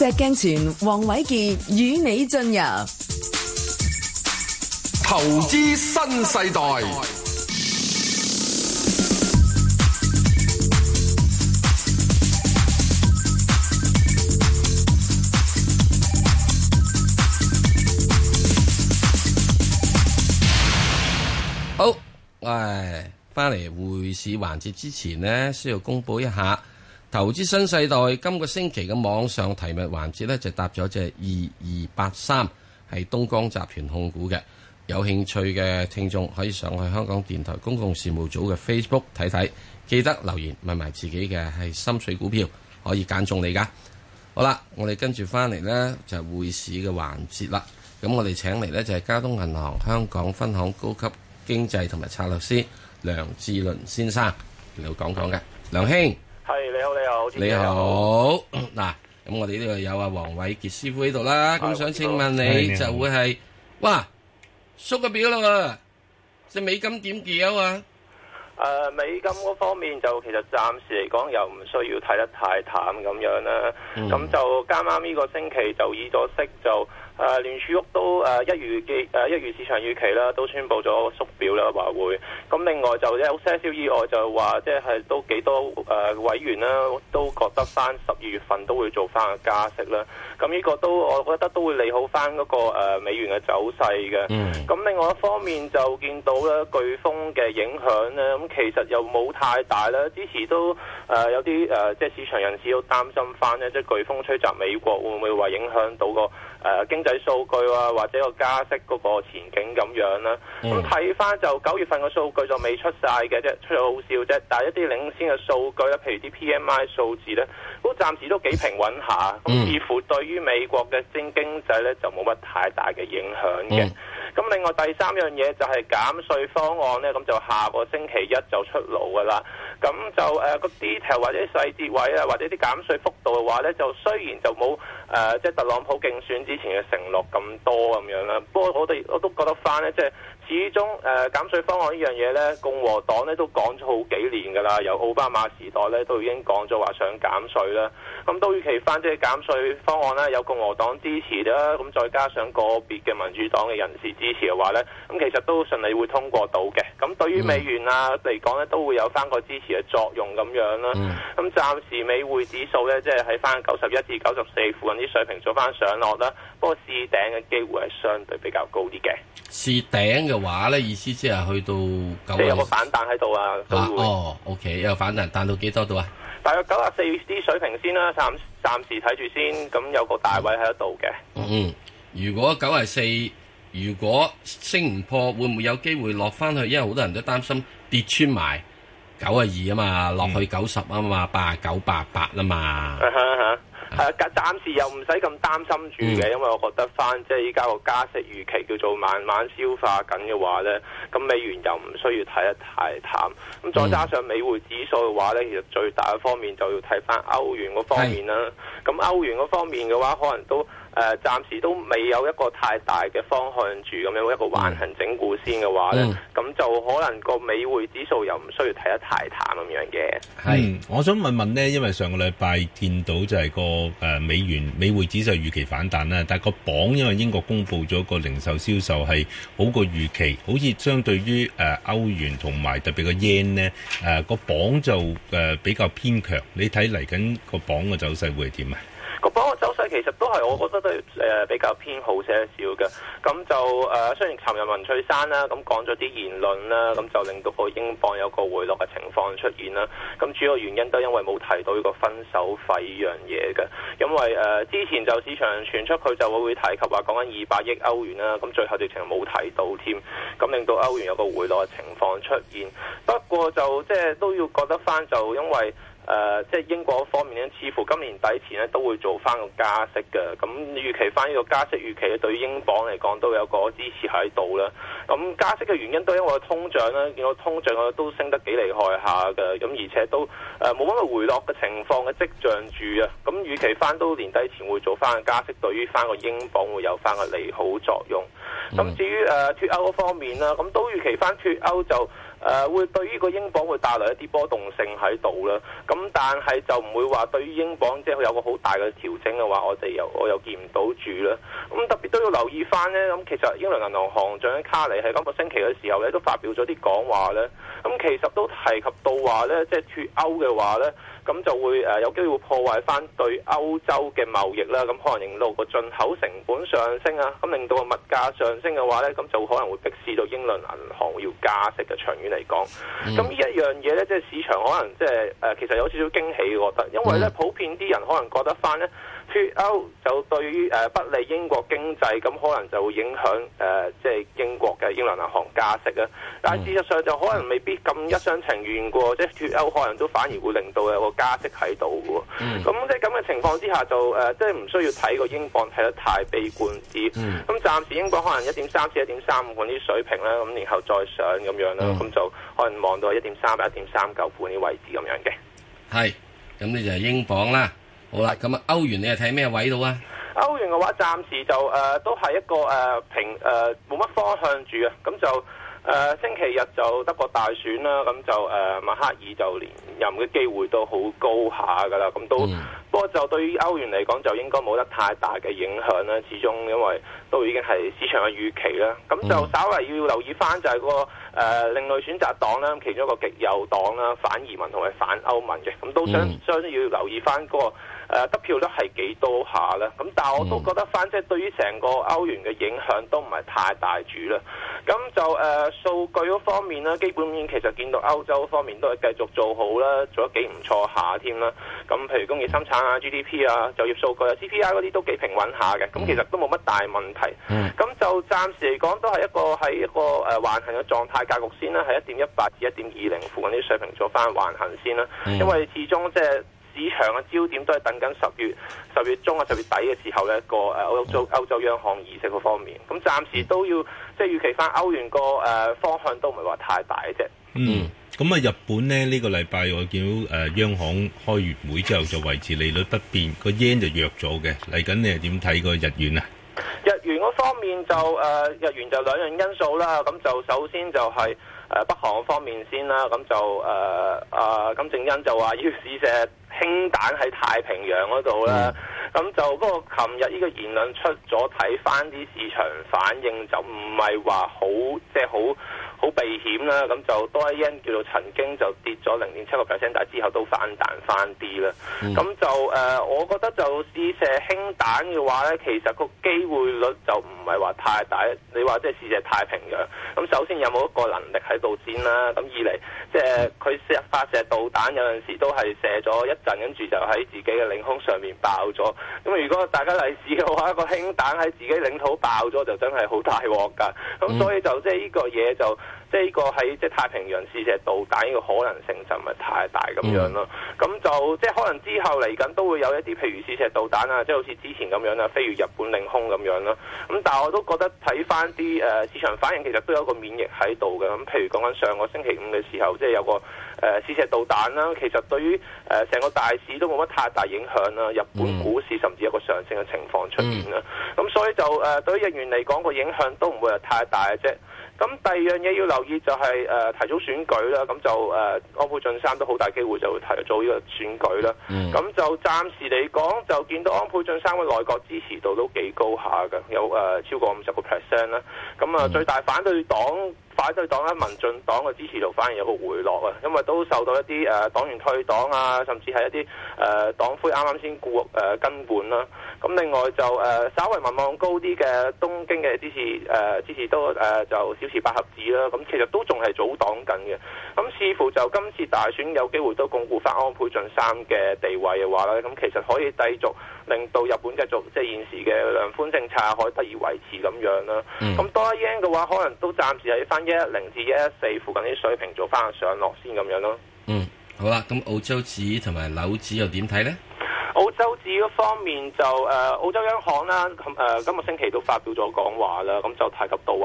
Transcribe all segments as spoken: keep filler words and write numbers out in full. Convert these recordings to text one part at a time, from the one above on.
石鏡泉、黃偉傑與你進入投資新世代。 好，誒，翻嚟匯市環節之前呢，需要公布一下投資新世代今個星期嘅網上提問環節呢，就搭咗隻二二八三，係東江集團控股嘅。有興趣嘅聽眾可以上去香港電台公共事務組嘅 Facebook 睇睇，記得留言問埋自己嘅係心水股票，可以揀中你噶。好啦，我哋跟住翻嚟呢，就係匯市嘅環節啦。咁我哋請嚟呢，就係交通銀行香港分行高級經濟同埋策略師梁志倫先生嚟講講嘅。梁兄， 係你好，你好， 你好。嗱，咁我哋呢度有阿黃偉傑師傅喺度啦。咁想請問你就會係，哇，縮個表啦喎，隻美金點叫啊？ 誒、呃，美金嗰方面就其實暫時嚟講又唔需要睇得太淡咁樣啦。咁、嗯、就啱啱呢個星期就議咗息就。誒、呃、聯儲局都誒、呃、一如嘅誒一如市場預期啦，都宣布咗縮表啦，話會。咁另外就有些少意外就話，即係都幾多誒、呃、委員啦，都覺得翻十二月份都會做翻個加息啦。咁呢個都我覺得都會利好翻嗰、那個、呃、美元嘅走勢嘅。咁、嗯、另外一方面就見到咧颶風嘅影響咧，咁其實又冇太大啦。之前都誒、呃、有啲誒、呃、即係市場人士都擔心翻咧，即係颶風吹襲美國會唔會話影響到個誒、呃、經濟數據啊，或者個加息嗰個前景咁樣啦。咁睇翻就九月份嘅數據就未出晒嘅啫，出咗好少啫。但係一啲領先嘅數據咧，譬如啲 P M I 數字咧，都暫時都幾平穩下。咁、嗯、似乎對於美國嘅經經濟咧就冇乜太大嘅影響嘅。咁、嗯、另外第三樣嘢就係減稅方案咧，咁就下個星期一就出爐噶啦。咁就誒個、呃、detail 或者細節位啊，或者啲減稅幅度嘅話咧，就雖然就冇誒即係特朗普競選之前嘅承諾咁多咁樣啦。不過我哋我都覺得翻咧，即係始終誒、呃、減稅方案呢樣嘢咧，共和黨咧都講咗好幾年㗎啦。由奧巴馬時代咧都已經講咗話想減稅啦。咁都預期翻即係減稅方案咧有共和黨支持啦，咁再加上個別嘅民主黨嘅人士支持嘅話咧，咁其實都順利會通過到嘅。咁對於美元啊嚟講咧，都會有翻個支持嘅作用咁樣啦。咁、嗯、暫時美匯指數咧，即係喺翻九十一至九十四附近啲水平做翻上落啦。不過試頂嘅機會係相對比較高啲嘅。 試頂嘅話咧，意思即係去到九，即係有個反彈喺度啊。都會哦 ，OK， 有個反彈，彈到幾多度啊？ 大約九十四啲水平先啦，暫暫時睇住先。咁有個大位喺度嘅。 嗯，如果九十四，如果升唔破，會唔會有機會落翻去？因為好多人都擔心跌穿埋九十二啊嘛，落去九十啊嘛，八十九、八十八啊嘛。 係啊，係啊，暫時又唔使咁擔心住嘅、嗯，因為我覺得翻即係依家個加息預期叫做慢慢消化緊嘅話咧，咁美元又唔需要睇得太淡。咁再加上美匯指數嘅話咧，其實最大嘅方面就要睇翻歐元嗰方面啦。咁歐元嗰方面嘅話，可能都誒、呃、暫時都未有一個太大嘅方向住，咁樣一個橫行整固先嘅話咧，咁、嗯、就可能個美匯指數又唔需要睇得太淡咁樣嘅。 係，我想問問呢，因為上個禮拜見到就係個誒美元美匯指數預期反彈啦，但係個榜因為英國公布咗個零售銷售係好過預期，好似相對於誒歐元同埋特別個 yen 呢，誒個榜就誒比較偏強。你睇嚟緊個榜嘅走勢會係點啊？ 個榜嘅走勢其實都係我覺得都係誒比較偏好些少嘅，咁就誒、呃、雖然尋日文翠珊啦咁講咗啲言論啦，咁就令到個英鎊有個回落嘅情況出現啦。咁主要原因都因為冇提到呢個分手費呢樣嘢嘅，因為誒、呃、之前就市場傳出佢就會會提及話講緊二百億歐元啦，咁最後直情冇提到添，咁令到歐元有個回落嘅情況出現。不過就即係都要覺得翻，就因為誒、呃，即係英國方面咧，似乎今年底前咧都會做翻個加息嘅。咁預期翻呢個加息預期咧，對於英鎊嚟講都有個支持喺度啦。咁加息嘅原因都因為通脹啦，見到通脹都升得幾厲害下嘅。咁而且都誒冇乜回落嘅情況嘅跡象住啊。咁預期翻都年底前會做翻個加息，對於翻個英鎊會有翻個利好作用。咁、嗯、至於誒脫歐方面啦，咁都預期翻脫歐就。誒、 誒會對於個英鎊會帶來一啲波動性喺度啦。咁但係就唔會話對於英鎊即係有個好大嘅調整嘅話，我哋又我又見唔到住啦。咁特別都要留意翻呢。咁其實英倫銀行行長卡尼喺今個星期嘅時候咧，都發表咗啲講話咧。咁其實都提及到話咧，即係脫歐嘅話咧，咁就會誒有機會破壞翻對歐洲嘅貿易啦。咁可能令到個進口成本上升啊，咁令到個物價上升嘅話咧，咁就可能會迫使到英倫銀行要加息嘅。長遠嚟講，咁呢、嗯、一樣嘢咧，即係市場可能即係誒，其實有少少驚喜，我覺得，因為咧普遍啲人可能覺得翻咧脫歐就對於誒不利英國經濟，咁可能就會影響誒即係英國嘅英倫銀行加息啊。但係事實上就可能未必咁一廂情願嘅，即係脫歐可能都反而會令到有個加息喺度嘅。咁、嗯、即係咁嘅情況之下就，就誒即係唔需要睇個英鎊睇得太悲觀啲。咁、嗯、暫時英鎊可能一點三至一點三五嗰啲水平啦，咁然後再上咁樣啦。咁、嗯、就可能望到一點三、一點三九半啲位置咁樣嘅。係， 咁你就係英鎊啦。好啦，咁啊歐元你係睇咩位度啊？ 歐元嘅話，暫時就誒、呃、都係一個誒、呃、平誒冇乜方向住啊。咁就誒、呃、星期日就德國大選啦。咁就誒、呃、默克爾就連任嘅機會都好高下㗎啦。咁都、嗯、不過就對於歐元嚟講，就應該冇得太大嘅影響啦。始終因為都已經係市場嘅預期啦。咁就稍為要留意翻就係、嗰個誒、呃、另類選擇黨啦，其中一個極右黨啦，反移民同埋反歐盟嘅。咁都相相要留意翻、嗰個。誒、呃、得票率係幾多下咧？咁但係我都覺得翻，即係對於成個歐元嘅影響都唔係太大住啦。咁就誒、呃、數據嗰方面啦，基本面其實見到歐洲方面都係繼續做好啦，做得幾唔錯下添啦。咁譬如工業生產啊、G D P 啊、就業數據啊、C P I 嗰啲都幾平穩下嘅。咁其實都冇乜大問題。咁、嗯、就暫時嚟講都係一個喺一個誒橫行嘅狀態格局先啦，係一點一八至一點二零附近啲水平做翻橫行先啦。嗯、因為始終即係。市場嘅焦點都係等緊十月十月中啊、十月底嘅時候呢個誒歐洲歐洲央行議息嗰方面，咁暫時都要即係預期翻歐元個誒方向都唔係話太大嘅啫。 嗯，咁啊日本呢，呢、呢個禮拜我見到誒、呃、央行開完會之後就維持利率不變，個 yen 就弱咗嘅。嚟緊你係點睇個日元啊？ 日元嗰方面就誒、呃、日元就兩樣因素啦，咁就首先就係、是。誒北韓方面先啦，咁就誒啊金正恩就話要試射氫彈喺太平洋嗰度啦，咁、嗯、就嗰個琴日呢個言論出咗，睇翻啲市場反應就唔係話好即係好好避險啦，咁就多一因叫做曾經就跌咗零點七個 percent， 但係之後都反彈翻啲啦。咁、嗯、就誒、呃，我覺得就試射氫彈嘅話咧，其實個機會率就唔係話太大。你話即係試射太平洋，咁首先有冇一個能力喺度先啦？咁二嚟即係佢射發射導彈有陣時都係射咗一陣，跟住就喺自己嘅領空上面爆咗。咁如果大家嚟試嘅話，一個氫彈喺自己領土爆咗，就真係好大鑊㗎。咁所以就即係呢個嘢就。即係呢個喺即係太平洋試射導彈呢個可能性就唔係太大咁樣咯。咁、嗯、就即係可能之後嚟緊都會有一啲譬如試射導彈啊，即係好似之前咁樣啊，飛越日本領空咁樣咯。咁但係我都覺得睇翻啲誒市場反應，其實都有個免疫喺度嘅。咁譬如講緊上個星期五嘅時候，即係有個誒、呃、試射導彈啦，其實對於誒成個大市都冇乜太大影響啦。日本股市甚至有個上升嘅情況出現啦。咁、嗯、所以就誒、呃、對於日元嚟講個影響都唔會係太大嘅啫。咁第二樣嘢要留意就係、是、誒、呃、提早選舉啦，咁就誒、呃、安倍晉三都好大機會就會提早呢個選舉啦。咁、嗯、就暫時嚟講就見到安倍晉三嘅內閣支持度都幾高下嘅，有誒、呃、超過五十個 percent 啦。咁啊、呃、最大反對黨反對黨咧民進黨嘅支持度反而有個回落啊，因為都受到一啲誒、呃、黨員退黨啊，甚至係一啲誒、呃、黨魁啱啱先故誒更換啦。咁另外就誒、呃、稍為民望高啲嘅東京嘅支持誒、呃、支持都誒、呃、就小池百合子啦。咁其實都仲係組黨緊嘅。咁似乎就今次大選有機會都鞏固翻安倍晉三嘅地位嘅話咧，咁其實可以繼續令到日本繼續即係現時嘅量寬政策可以得以維持咁樣啦。咁、嗯、多一 yen 嘅話，可能都暫時喺翻一一零至一一四附近啲水平做翻個上落先咁樣咯。 嗯，好啦，咁澳洲紙同埋紐紙又點睇呢？ 澳洲紙嗰方面就誒、呃、澳洲央行啦，咁、呃、誒今個星期都發表咗講話啦，咁就提及到話誒、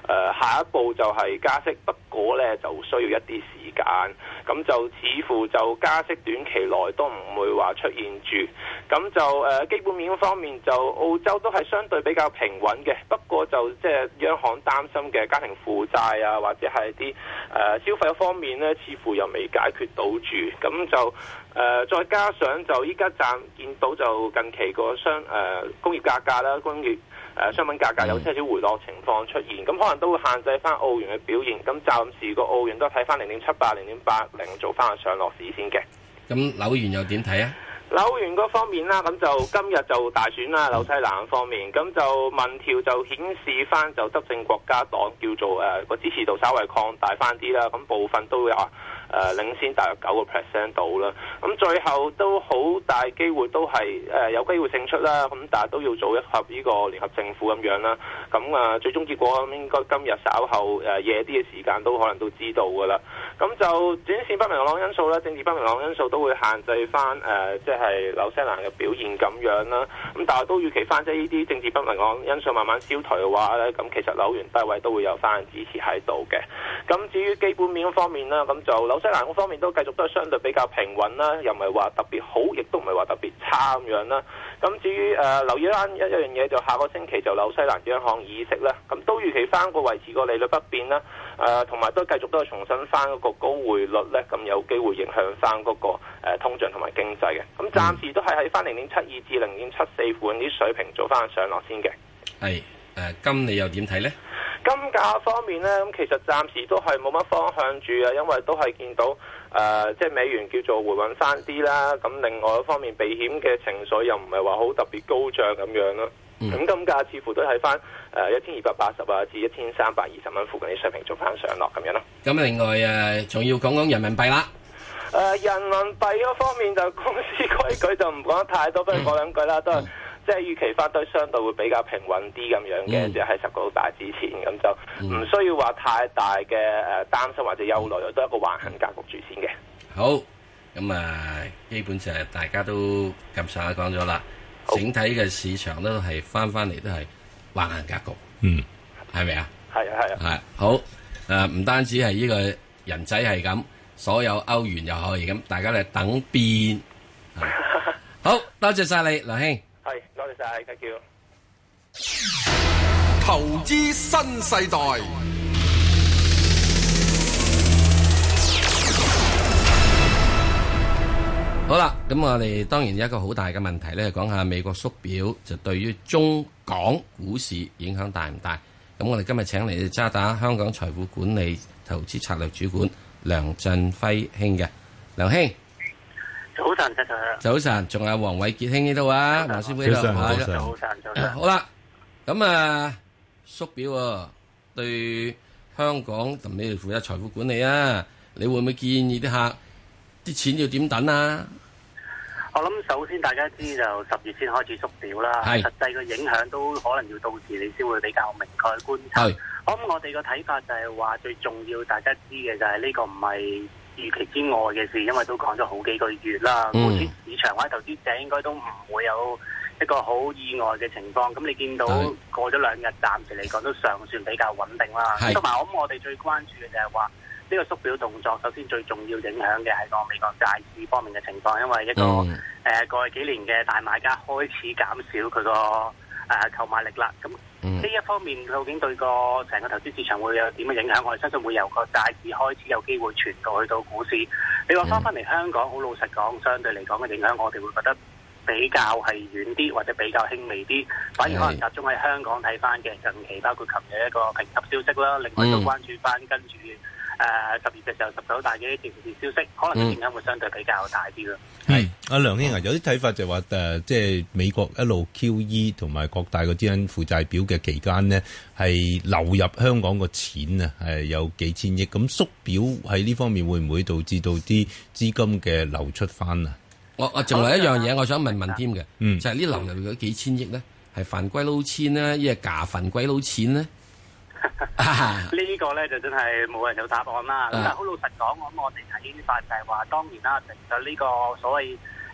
呃、下一步就係加息，不過呢就需要一啲時間，咁就似乎就加息短期內都唔會話出現住，咁就誒、呃、基本面方面就澳洲都係相對比較平穩嘅，不過就即係央行擔心嘅家庭負債啊，或者係啲誒消費方面呢，似乎又未解決到住，咁就誒、呃、再加上就依家暫見到就近期個商誒、呃、工業價格啦，工業誒、呃、商品價格有些少回落情況出現，咁可能都會限制翻澳元嘅表現。咁暫時個澳元都睇翻零點七八、零點八零做翻個上落市先嘅。 咁紐元又點睇啊？ 紐元嗰方面啦，咁就今日就大選啦，紐西蘭方面，咁就民調就顯示翻就執政國家黨叫做誒個、呃、支持度稍微擴大翻啲啦，咁部分都有。誒、呃、領先大約九個 percent 到啦，咁最後都好大機會都係誒、呃、有機會勝出啦，咁但係都要做一合呢個聯合政府咁樣啦，咁啊最終結果應該今日稍後誒、呃、夜啲嘅時間都可能都知道噶啦，咁就短線不明朗因素啦，政治不明朗因素都會限制翻誒即係紐西蘭嘅表現咁樣啦，咁但係都預期翻即係呢啲政治不明朗因素慢慢消退嘅話咧，咁其實紐元低位都會有翻支持喺度嘅，咁至於基本面方面啦，咁就紐西蘭嗰方面都繼續都係相對比較平穩啦，又唔係話特別好，亦都唔係話特別差咁樣啦。咁至於誒、呃、留意翻一一樣嘢，就下個星期就紐西蘭央行議息啦，咁都預期翻個維持個利率不變啦，誒同埋都繼續都係重新翻嗰個高匯率咧，咁有機會影響翻嗰個、呃、通脹同埋經濟嘅。咁暫時都係喺翻零點七二至零點七四款啲水平做翻上落先嘅。 係誒，金你又點睇咧？ 金價方面呢，咁其實暫時都係冇乜方向住啊，因為都係見到誒、呃，即係美元叫做回穩翻啲啦。咁另外一方面，避險嘅情緒又唔係話好特別高漲咁樣咯。咁、嗯、金價似乎都係翻誒一千二百八十啊至一千三百二十蚊附近啲水平做翻上落咁樣咯。 咁另外誒，仲、呃、要講講人民幣啦。 誒、呃，人民幣嗰方面就公司規矩就唔講得太多，不如講兩句啦，都係。嗯即係預期翻都相對會比較平穩啲咁樣嘅，即係喺十個大之前，咁就唔需要話太大嘅誒擔心或者憂慮，都係一個橫行格局住先嘅。 好，咁啊，基本上大家都咁上下講咗啦，整體嘅市場都係翻翻嚟都係橫行格局，嗯，係咪啊？ 係啊係啊。 係好誒，唔單止係呢個人仔係咁，所有歐元又可以咁，大家嚟等變。好多謝晒你，梁兄。 係，多謝晒 ，thank you。 投資新世代。 好啦，咁我哋當然有一個好大嘅問題咧，講下美國縮表就對於中港股市影響大唔大？咁我哋今日請嚟渣打香港財富管理投資策略主管梁振輝兄嘅，梁兄。 早晨，早晨， 早晨，仲有黃偉傑兄呢度啊，黃師傅呢度， 早晨，早晨，早晨。 好啦，咁啊縮表啊，對香港同你哋負責財富管理啊，你會唔會建議啲客啲錢要點等啊？ 我諗首先大家知就十月先開始縮表啦，實際嘅影響都可能要到時你先會比較明確觀察。咁我哋個睇法就係話最重要大家知嘅就係呢個唔係預期之外嘅事，因為都講咗好幾個月啦。目前、嗯、市場或者投資者應該都唔會有一個好意外嘅情況。咁你見到過咗兩日，暫時嚟講都尚算比較穩定啦。同埋我諗我哋最關注嘅就係話呢個縮表動作，首先最重要影響嘅係個美國債市方面嘅情況，因為一個誒、嗯呃、過去幾年嘅大買家開始減少佢個誒購買力啦。咁呢、嗯、一方面究竟對個成個投資市場會有點嘅影響？我哋相信會由個債市開始有機會傳導去到股市。你話翻翻嚟香港，好老實講，相對嚟講嘅影響，我哋會覺得比較係遠啲或者比較輕微啲，反而可能集中喺香港睇翻嘅近期，包括琴日一個評級消息啦，另外都關注翻跟住。誒十月嘅時候，十九大嘅政治消息，可能影響會相對比較大啲咯。 係阿梁兄啊，有啲睇法就話誒、呃，即係美國一路 Q E 同埋各大個資產負債表嘅期間呢，係流入香港個錢啊，係有幾千億。咁縮表喺呢方面會唔會導致到啲資金嘅流出翻啊？我我仲有一樣嘢，我想問問添嘅，嗯，就係呢流入嗰幾千億咧，係犯規撈錢呢，一係假犯規撈錢呢？ 呢個咧就真係冇人有答案啦。咁但係好老實講，我諗我哋睇法就係話，當然啦，其實呢個所謂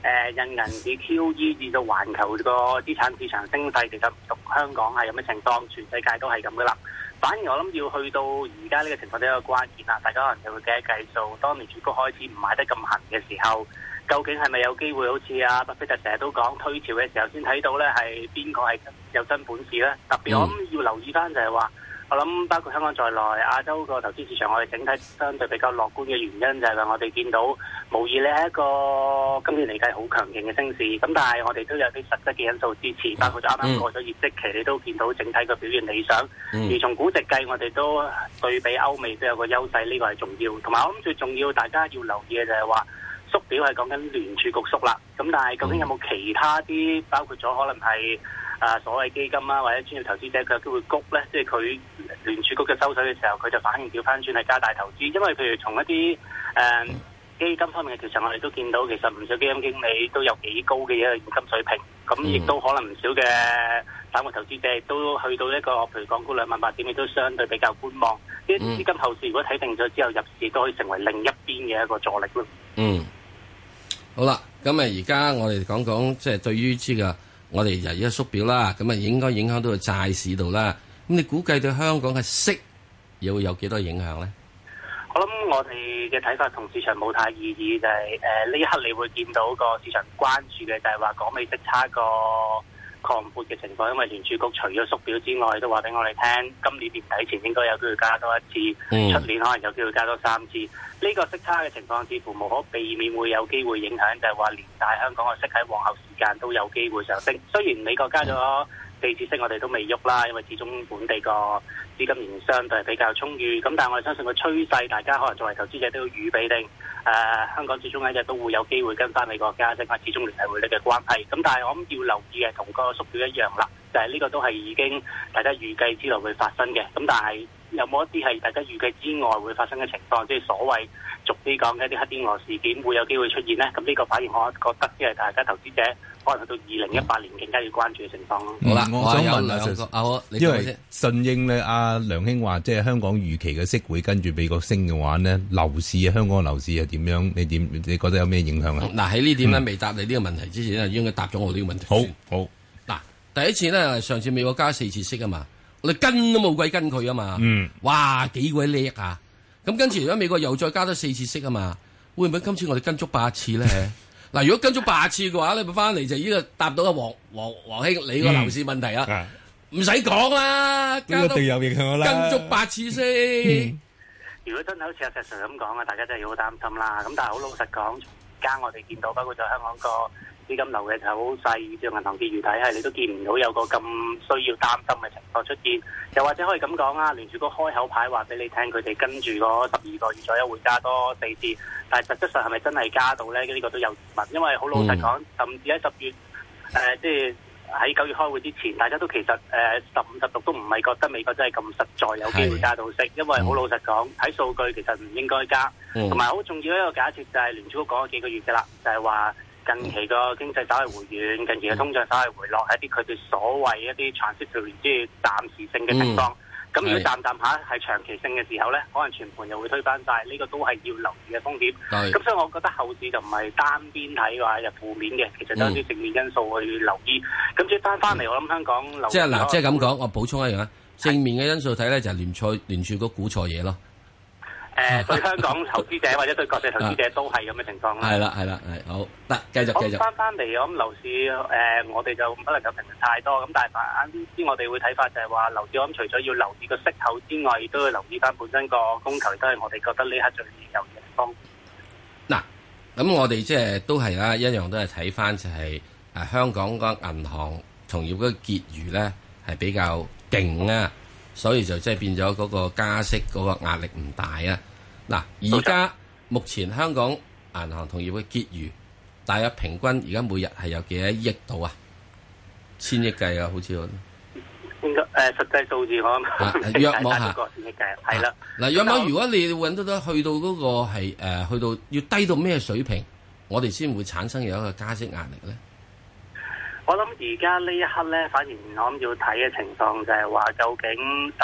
誒印銀紙 Q E 至到環球個資產市場升勢，其實唔同香港係咁嘅情況，全世界都係咁噶啦。反而我諗要去到而家呢個情況都係一個關鍵啦，大家可能就會計一計數，當聯儲局開始唔買得咁行嘅時候，究竟係咪有機會好似阿巴菲特成日都講推潮嘅時候先睇到呢係邊個係有真本事呢？特別我諗要留意翻就係話，我諗包括香港在內，亞洲個投資市場我哋整體相對比較樂觀嘅原因就係話我哋見到無疑呢係一個今年嚟計好強勁嘅升市，咁但係我哋都有啲實質嘅因素支持，包括咗啱啱過咗業績期，你都見到整體嘅表現理想。嗯、而從估值計，我哋都對比歐美都有個優勢，呢、這個係重要。同埋我諗最重要，大家要留意嘅就係話縮表係講緊聯儲局縮啦。咁但係究竟有冇其他啲，包括咗可能係啊所謂基金啊，或者專業投資者佢有機會谷咧？即係佢聯儲局嘅收水嘅時候，佢就反應調翻轉係加大投資。因為譬如從一啲誒、呃、基金方面嘅調查，我哋都見到其實唔少基金經理都有幾高嘅一個現金水平。咁亦都可能唔少嘅散戶投資者都去到一個譬如港股兩萬八點，亦都相對比較觀望。啲資金後市如果睇定咗之後入市，都可以成為另一邊嘅一個助力咯。 嗯，好啦，咁啊而家我哋講講即係對於呢個我哋而家縮表啦，咁啊應該影響到個債市度啦。咁你估計對香港嘅息又會有幾多影響咧？ 我諗我哋嘅睇法同市場冇太異議，就係誒呢一刻你會見到個市場關注嘅就係話港美息差個擴闊嘅情況，因為聯儲局除咗縮表之外，都話俾我哋聽，今年年底前應該有機會加多一次，出、嗯、年可能有機會加多三次。呢、這個息差嘅情況似乎無可避免會有機會影響，就係話連帶香港嘅息喺往後時間都有機會上升。雖然美國加咗四次息，我哋都未喐啦，因為始終本地個資金仍然相對係比較充裕。咁但係我哋相信個趨勢，大家可能作為投資者都要預備定。誒、呃、香港最終一日都會有機會跟翻美國加息，因為始終聯繫匯率嘅關係。咁但係我諗要留意嘅同個縮表一樣啦，就係、是、呢個都係已經大家預計之內會發生嘅。咁但係有冇一啲係大家預計之外會發生嘅情況，即係所謂逐啲講嘅一啲黑天鵝事件會有機會出現呢？咁呢個反而我覺得即係大家投資者可能去到二零一八年更加要關注嘅情況咯。 好啦，我想問下個啊， 因為順應咧，阿梁兄話即係香港預期嘅息會跟住美國升嘅話呢，樓市啊，香港嘅樓市係點樣？你點？你覺得有咩影響啊？ 嗱喺呢點咧，未答你呢個問題之前咧，應該答咗我呢個問題。 好，好。 嗱，第一次咧，上次美國加四次息啊嘛，我哋跟都冇鬼跟佢啊嘛。嗯。哇，幾鬼叻啊！咁跟住而家美國又再加多四次息啊嘛，會唔會今次我哋跟足八次咧？嗱，如果跟足八次嘅話，你咪翻嚟就呢個答到阿黃黃黃兄你個樓市問題啊，唔使講啦， 一定有影響啦， 跟足八次先。 嗯、如果真係好似阿石 Sir 咁講啊，大家真係要好擔心啦。咁但係好老實講，而家我哋見到包括咗香港個資金流嘅走勢，以至銀行結餘體系，你都見唔到有個咁需要擔心嘅情況出現。又或者可以咁講啊，聯儲局開口牌話俾你聽，佢哋跟住嗰十二個月左右會加多四次，但係實質上係咪真係加到咧？呢、呢個都有疑問，因為好老實講，甚至喺十月誒、呃，即係喺九月開會之前，大家都其實誒十五十六都唔係覺得美國真係咁實在有機會加到息，因為好老實講，睇數據其實唔應該加，同埋好重要一個假設就係聯儲局講咗幾個月嘅啦，就係、是、話。近期個經濟稍為回軟，近期嘅通脹稍為回落，係一啲佢哋所謂一啲 transitory 即係暫時性嘅情況。咁、嗯、如果暫暫下係長期性嘅時候咧，可能全盤又會推翻晒。呢、這個都係要留意嘅風險。咁所以我覺得後市就唔係單邊睇嘅話，就負面嘅，其實都有啲正面因素去留意。咁即係翻翻嚟，我諗香港留即係嗱，即係咁講，我補充一樣啊，正面嘅因素睇咧就係聯儲聯儲局估錯嘢咯。 誒、呃，對香港投資者或者對國際投資者都係咁嘅情況啦。係啦， 係啦，係好得，繼續繼續。 翻翻嚟，我諗樓市誒、呃，我哋就不能夠評論太多。咁但係反之，我哋會睇法就係話樓市，我諗除咗要留意個息口之外，亦都要留意翻本身個供求，都係我哋覺得呢刻最有嘅地方。 嗱，咁我哋即係都係啦，一樣都係睇翻就係、是、誒、啊、香港個銀行同業嗰個結餘咧係比較勁啊。所以就即係變咗嗰個加息嗰個壓力唔大啊！嗱，而家目前香港銀行同業嘅結餘大約平均而家每日係有幾多億度啊？千億計啊，好似我應該誒、呃、實際數字我諗約莫下千億計係啦。嗱， 約莫如果你揾得到去到嗰個係誒、呃、去到要低到咩水平，我哋先會產生有一個加息壓力咧？ 我諗而家呢一刻咧，反而我諗要睇嘅情況就係話，究竟十月儲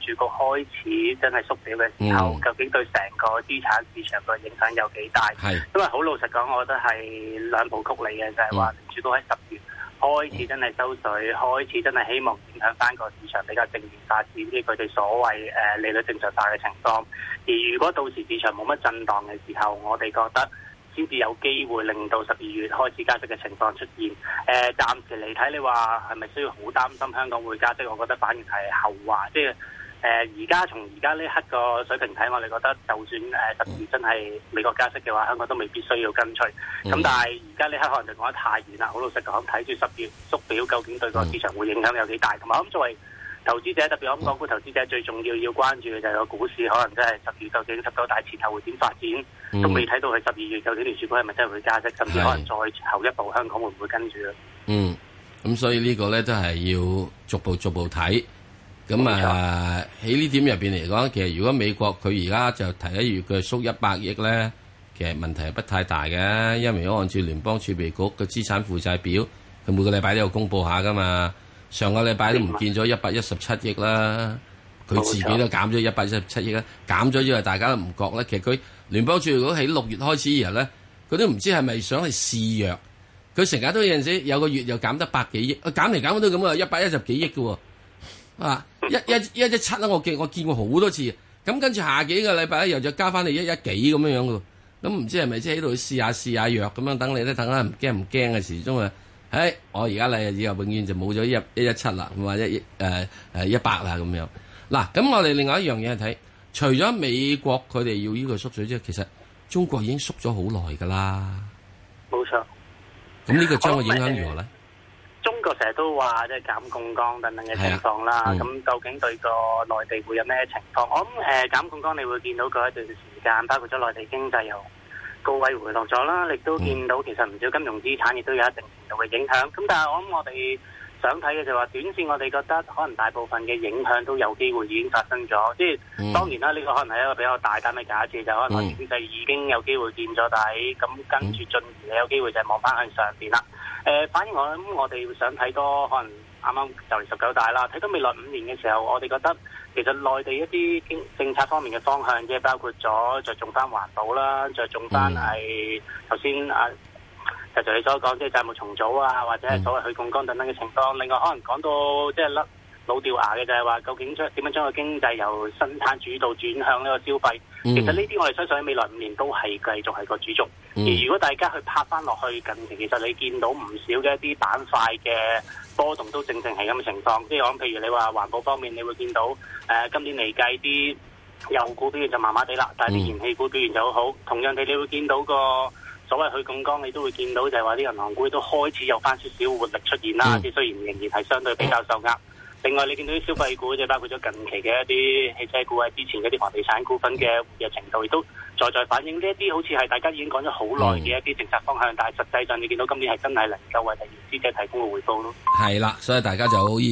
局開始真係縮表嘅時候，嗯、究竟對成個資產市場嘅影響有幾大？係因為好老實講，我覺得係兩部曲嚟嘅，就係話聯儲局喺十月開始真係收水，開始真係希望影響翻個市場比較正面發展啲佢哋所謂誒、呃、利率正常化嘅情況。而如果到時市場冇乜震盪嘅時候，我哋覺得先至有機會令到十二月開始加息嘅情況出現。誒、呃，暫時嚟睇，你話係咪需要好擔心香港會加息？我覺得反而係後話。即係誒，而家從而家呢刻個水平睇，我哋覺得就算誒十二月真係美國加息嘅話，香港都未必需要跟隨。咁、嗯、但係而家呢刻可能就講得太遠啦。好老實講，睇住十月縮表，究竟對個市場會影響有幾大？同埋我諗作為投資者，特別我諗港股投資者最重要要關注嘅就係個股市，可能真係十月究竟十九大前後會點發展，嗯、都未睇到佢十二月究竟聯儲局係咪真係會加息，甚至可能再後一步香港會唔會跟住咧？嗯，咁所以呢個咧都係要逐步逐步睇。咁啊喺呢點入邊嚟講，其實如果美國佢而家就提一月佢縮一百億咧，其實問題係不太大嘅，因為如果按照聯邦儲備局嘅資產負債表，佢每個禮拜都有公佈下噶嘛。上個禮拜都唔見咗一百一十七億啦，佢自己都減咗一百一十七億啦，減咗因為大家都唔覺咧。其實佢聯邦儲備局喺六月開始以後咧，佢都唔知係咪想去試藥，佢成日都有陣時有個月又減得百幾億，減嚟減去都咁啊，一百一十幾億嘅喎，啊一一一一七啦，我見我見過好多次，咁跟住下幾個禮拜咧又再加翻你一一幾咁樣樣嘅，咁唔知係咪即係喺度試下試下藥咁樣，等你咧等下唔驚唔驚嘅時鐘啊！誒、哎，我而家嚟以後永遠就冇咗一一一七啦，或者一誒誒一百啦咁樣。嗱，咁我哋另外一樣嘢係睇，除咗美國佢哋要呢個縮水之外，其實中國已經縮咗好耐噶啦。冇錯。咁呢個將會影響如何咧？中國成日都話即係減槓桿等等嘅情況啦。咁、嗯、究竟對個內地會有咩情況？我諗誒減槓桿，你會見到佢一段時間，包括咗內地經濟又高位回落咗啦，亦都見到其實唔少金融資產亦都有一定程度嘅影響。咁但係我諗我哋想睇嘅就係話，短線我哋覺得可能大部分嘅影響都有機會已經發生咗。即係、嗯、當然啦，呢、呢個可能係一個比較大膽嘅假設，就可能經濟已經有機會見咗底，咁、嗯、跟住進而有機會就係望翻向上邊啦。誒、呃，反而我諗我哋想睇多可能啱啱就嚟十九大啦，睇到未來五年嘅時候，我哋覺得其實內地一啲經政策方面嘅方向，即係包括咗着重翻環保啦，着重翻係頭先啊，就就你所講即係債務重組啊，或者係所謂去槓桿等等嘅情況。另外可能講到即係甩老掉牙嘅就係話，究竟將點樣將個經濟由生產主導轉向呢個消費？嗯、其實呢啲我哋相信喺未來五年都係繼續係個主軸。嗯、而如果大家去拍翻落去近期，其實你見到唔少嘅一啲板塊嘅波動都正正係咁嘅情況。即係講譬如你話環保方面，你會見到誒、呃、今年嚟計啲油股表現就麻麻地啦，但係啲燃氣股表現就好好。同樣地，你會見到個所謂去槓桿，你都會見到就係話啲銀行股都開始有翻少少活力出現啦。即係、嗯、雖然仍然係相對比較受壓。另外，你見到啲消費股，即係包括咗近期嘅一啲汽車股啊，之前嗰啲房地產股份嘅活躍程度，亦都在在反映呢一啲好似係大家已經講咗好耐嘅一啲政策方向，嗯、但係實際上你見到今年係真係能夠為投資者提供個回報咯。係啦，所以大家就好